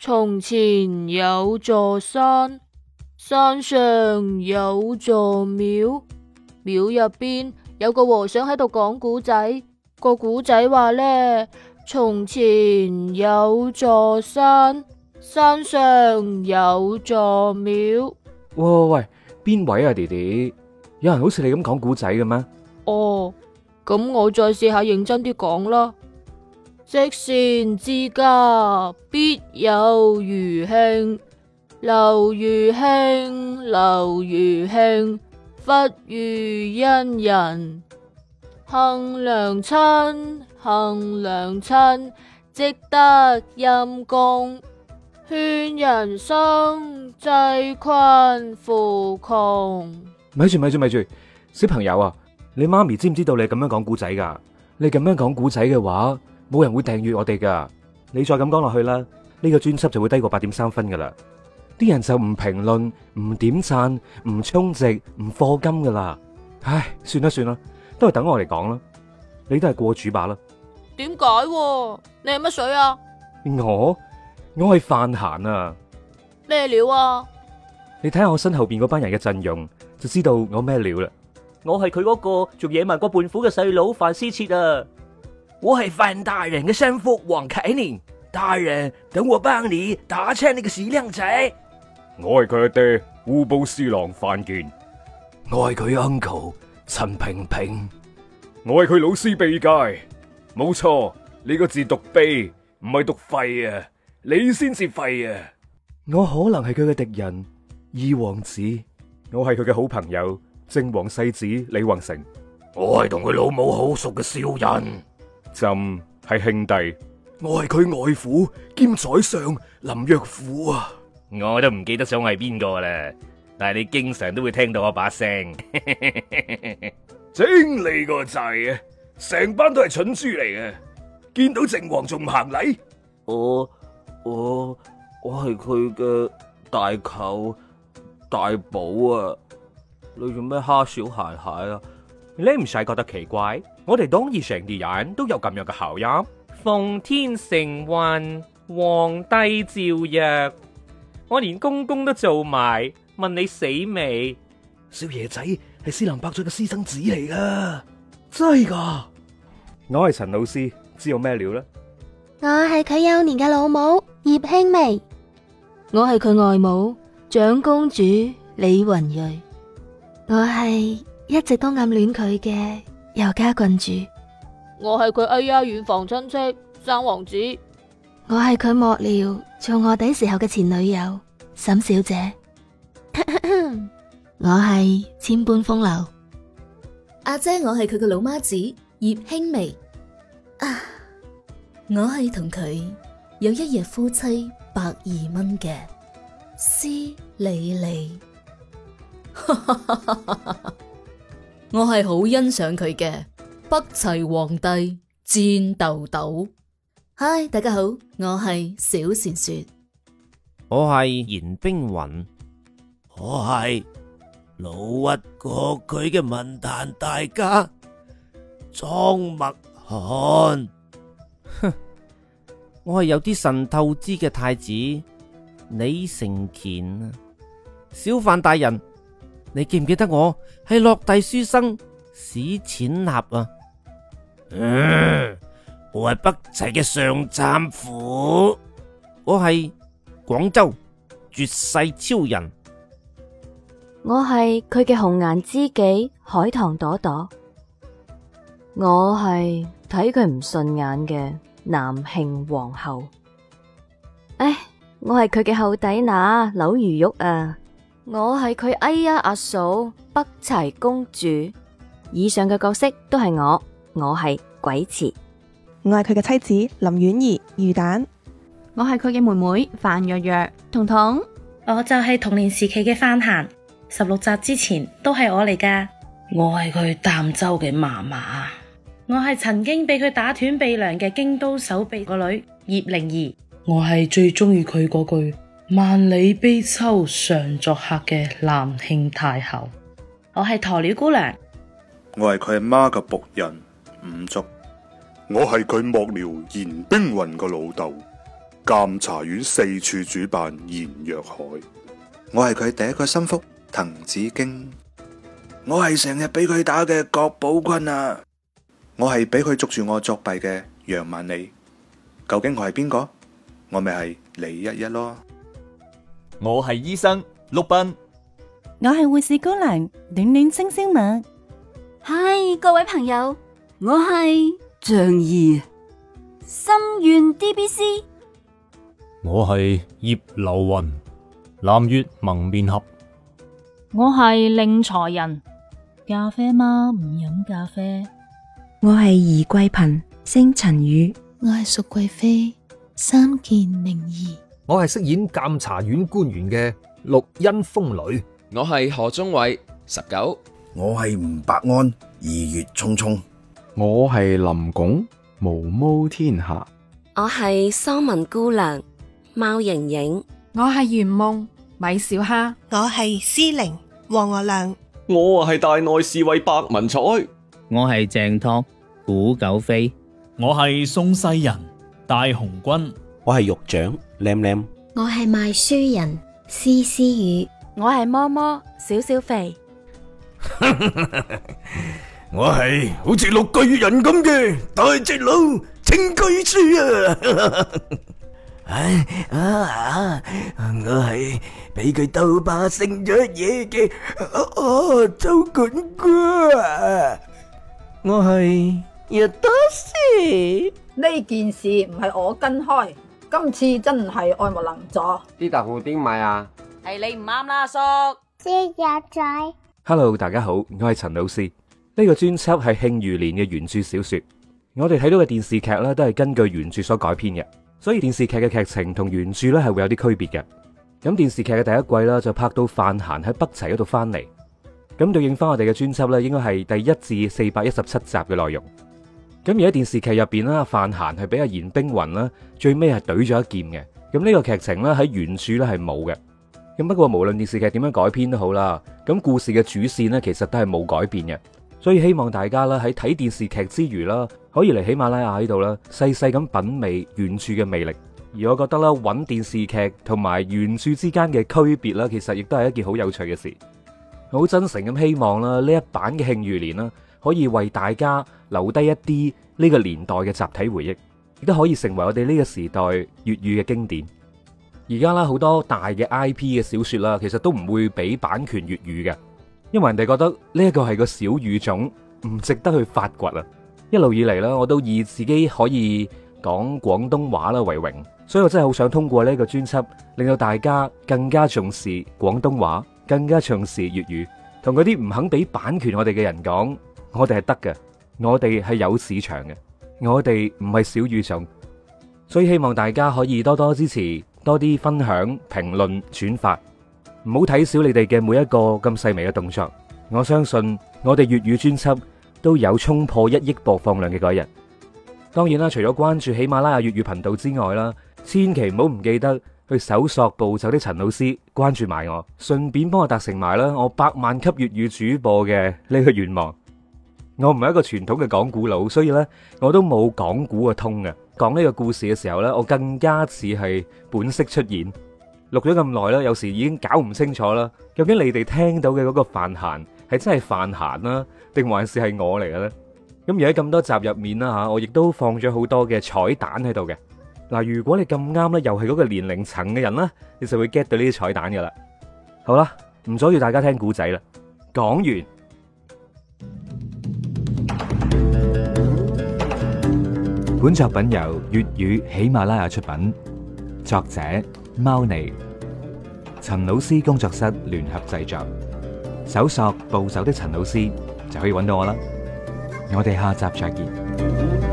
從前有座山，山上有座廟，廟入邊有個和尚喺度講古仔。個古仔話呢，從前有座山，山上有座廟。 喂，邊位啊，弟弟？有人好似你咁講古仔嘅咩？ 哦，咁我再試下認真啲講啦。積善之家必有餘慶，留餘慶，留餘慶，忽遇恩人。行良親，行良親，積得陰功。勸人生，濟困扶窮。 咪住，小朋友啊，你媽咪知唔知道你咁樣講古仔噶？你咁樣講古仔嘅話，冇人會訂閱我哋噶。你再咁講落去啦，呢個專輯就會低過8.3分噶啦。啲人就唔評論、唔點讚、唔充值、唔課金噶啦。唉，算啦，都係等我嚟講啦。你都係過主把啦。 點解？你係乜水啊？ 我係范閒啊。 咩料啊？ 你睇下我身後邊嗰班人嘅陣容，就知道我咩料啦。 我係佢嗰個仲野蠻過胖虎嘅細佬范思徹啊！ 我係范大人嘅生父黃啟年，大人等我幫你打槍呢個死靚仔。 我係佢阿爹烏布斯郎范健， 我係佢 uncle 陳平平， 我係佢老師秘介。冇錯，呢個字讀秘，唔係讀廢啊！你先至廢啊！我可能係佢嘅敵人二王子，我係佢嘅好朋友靖王世子李宏成， 我係同佢老母好熟嘅小人， 朕係兄弟， 我係佢外父兼宰相林若虎啊！ 我都唔記得咗我係邊個啦，但係你經常都會聽到我把聲。 精你個掣啊！成班都係蠢豬嚟嘅，見到靖王仲唔行禮？ 我係佢嘅大舅大寶啊！你做咩蝦小孩孩啊？ 你唔使覺得奇怪，我哋當然成啲人都有咁樣嘅口音。奉天承運，皇帝詔曰，我連公公都做埋，問你死未？ 少爺仔係斯林伯爵嘅私生子嚟噶，真係噶。 我係陳老師，知道咩料呢？ 我係佢幼年嘅老母葉輕眉， 我係佢外母長公主李雲睿， 我係一直都暗戀佢嘅尤家郡主， 我係佢遠房親戚三王子， 我係佢幕僚做臥底時候嘅前女友沈小姐，我係千般風流阿姐，我係佢嘅老媽子葉輕眉啊，我係同佢有一日夫妻120蚊嘅施莉莉，我係好欣賞佢嘅北齊皇帝戰豆豆。嗨，大家好，我係小善雪， 我係嚴冰雲， 我係老屈過佢嘅文壇大家莊墨寒， 我係有啲神透支嘅太子李承乾啊！小范大人，你記唔記得我係落第書生史淺納啊？ 我係北齊嘅上杉虎， 我係廣州絕世超人， 我係佢嘅紅顏知己海棠朵朵， 我係睇佢唔順眼嘅南慶皇后。 我係佢嘅後底乸柳如玉啊！ 我係佢阿嫂北齊公主。 以上嘅角色都係我係鬼池， 我係佢嘅妻子林婉儀魚蛋， 我係佢嘅妹妹范若若彤彤， 我就係童年時期嘅范閒，16集之前都係我嚟噶。 我係佢儋州嘅嫲嫲， 我係曾經俾佢打斷鼻梁嘅京都守備個女葉靈兒， 我係最中意佢嗰句萬里悲秋常作客嘅南慶太后， 我係鴕鳥姑娘， 我係佢阿媽嘅僕人五竹， 我係佢幕僚嚴冰雲個老豆， 監察院四處主辦顏若海。我係佢第一個心腹滕子京。我係成日俾佢打嘅郭寶坤啊！我係俾佢捉住我作弊嘅楊萬里。究竟我係邊個？我咪係李一一咯。 我係醫生陸斌。 我係護士姑娘暖暖星星蜜。 嗨，各位朋友，我係仗義心願 DBC。 我係葉流雲南粵蒙面俠。 我係令財人，咖啡嗎？唔飲咖啡。 我係宜桂貧星塵雨。 我係淑貴妃三件靈兒。 我係飾演監察院官員嘅陸恩風雷。 我係何宗偉19。 我係吳伯安2月匆匆。 我係林拱毛毛天下。 我係桑文姑娘貓瑩瑩。 我係圓夢米小蝦。 我係詩玲黃娥娘。 我係大內侍衛白文彩。 我係鄭拓古九飛。 我係宋世人大紅軍。 我係獄長靚靚。 我係賣書人絲絲雨。 我係摸摸小小肥。 我係好似綠巨人咁嘅大隻佬清居書啊！我係俾佢鬥霸勝咗嘢嘅周管官。我係葉多士。 呢件事唔係我跟開，今次真係愛莫能助。 啲豆腐點買啊？ 係你唔啱啦，阿叔。 節日仔。 Hello， 大家好，我係陳老師。呢個專輯係慶餘年嘅原著小說，我哋睇到嘅電視劇呢都係根據原著所改編嘅，所以電視劇嘅劇情同原著呢係會有啲區別嘅。咁電視劇嘅第一季啦就拍到范閒喺北齊嗰度翻嚟，咁對應翻我哋嘅專輯呢應該係第1至417集嘅內容。咁而喺電視劇入邊啦，范閒係俾阿言冰雲啦最尾係懟咗一劍嘅。咁呢個劇情呢喺原著呢係冇嘅。咁不過無論電視劇點樣改編都好啦，咁故事嘅主線呢其實都係冇改變嘅。所以希望大家啦喺睇電視劇之餘啦，可以嚟喜馬拉雅喺度啦，細細咁品味原著嘅魅力。而我覺得啦，揾電視劇同埋原著之間嘅區別啦，其實亦都係一件好有趣嘅事。好真誠咁希望啦，呢一版嘅慶餘年啦，可以為大家留低一啲呢個年代嘅集體回憶，亦都可以成為我哋呢個時代粵語嘅經典。而家啦好多大嘅 IP 嘅小說啦，其實都唔會俾版權粵語嘅。因為人哋覺得呢一個係個小語種，唔值得去發掘啊！一路以嚟啦，我都以自己可以講廣東話啦為榮，所以我真係好想通過呢個專輯，令到大家更加重視廣東話，更加重視粵語，同嗰啲唔肯俾版權我哋嘅人講，我哋係得嘅，我哋係有市場嘅，我哋唔係小語種，所以希望大家可以多多支持，多啲分享、評論、轉發。唔好睇小你哋嘅每一個咁細微嘅動作，我相信我哋粵語專輯都有衝破1億播放量嘅嗰一日。當然啦，除咗關注喜馬拉雅粵語頻道之外啦，千祈唔好唔記得去搜索暴走的陳老師，關注埋我，順便幫我達成埋啦我100萬級粵語主播嘅呢個願望。我唔係一個傳統嘅講古佬，所以咧我都冇講古嘅通嘅。講呢個故事嘅時候咧，我更加似係本色出演。錄咗咁耐啦，有時已經搞唔清楚啦。究竟你哋聽到嘅嗰個范閒係真係范閒啦，定還是係我嚟嘅咧？咁而喺咁多集入面啦吓，我亦都放咗好多嘅彩蛋喺度嘅。嗱，如果你咁啱咧，又係嗰個年齡層嘅人啦，你就會 get 到呢啲彩蛋噶啦。好啦，唔阻住大家聽古仔啦，講完。本作品由粵語喜馬拉雅出品，作者貓膩，陳老師工作室聯合製作，搜索暴走的陳老師就可以揾到我啦。我哋下集再見。